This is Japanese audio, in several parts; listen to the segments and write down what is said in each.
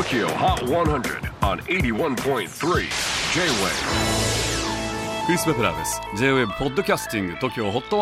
TOKYO HOT 100 on 81.3 J-WAVE クリス・ベプラーです。 J-WAVE ポッドキャスティング TOKYO HOT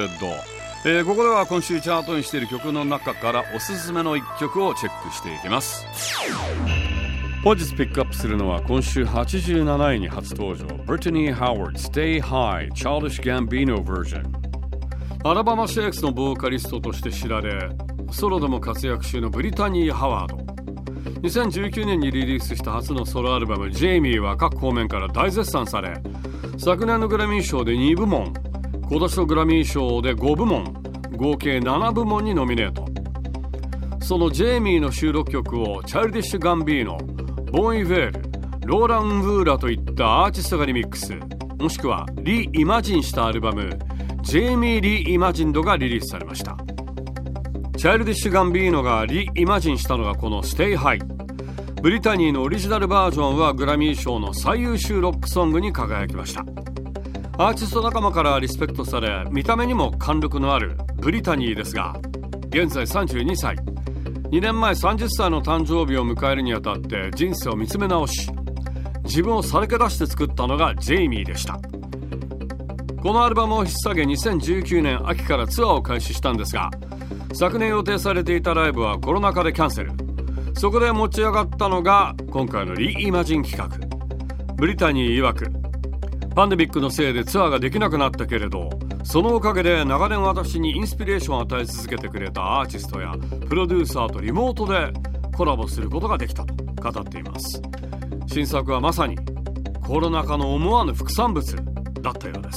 100、ここでは今週チャートにしている曲の中からおすすめの1曲をチェックしていきます。本日ピックアップするのは今週87位に初登場 Brittany Howard Stay High Childish Gambino Version。 アラバマシェイクスのボーカリストとして知られ、ソロでも活躍中のブリタニー・ハワード。2019年にリリースした初のソロアルバムジェイミーは各方面から大絶賛され、昨年のグラミー賞で2部門、今年のグラミー賞で5部門、合計7部門にノミネート。そのジェイミーの収録曲をチャイルディッシュ・ガンビーノ、ボン・イヴェール、ローラン・ウーラといったアーティストがリミックス、もしくはリイマジンしたアルバムジェイミー・リイマジンドがリリースされました。チャイルディッシュ・ガンビーノがリイマジンしたのがこの Stay High。 ブリタニーのオリジナルバージョンはグラミー賞の最優秀ロックソングに輝きました。アーティスト仲間からリスペクトされ、見た目にも貫禄のあるブリタニーですが、現在32歳。2年前30歳の誕生日を迎えるにあたって人生を見つめ直し、自分をさらけ出して作ったのがジェイミーでした。このアルバムを引っ提げ2019年秋からツアーを開始したんですが、昨年予定されていたライブはコロナ禍でキャンセル。そこで持ち上がったのが今回のリイマジン企画。ブリタニー曰く、パンデミックのせいでツアーができなくなったけれど、そのおかげで長年私にインスピレーションを与え続けてくれたアーティストやプロデューサーとリモートでコラボすることができたと語っています。新作はまさにコロナ禍の思わぬ副産物だったようです。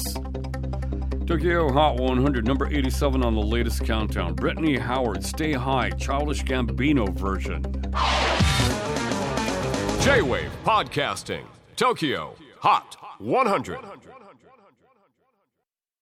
Tokyo Hot 100 number 87 on the latest countdown. Brittany Howard Stay High Childish Gambino Version. J-WAVE PODCASTING TOKYO HOT 100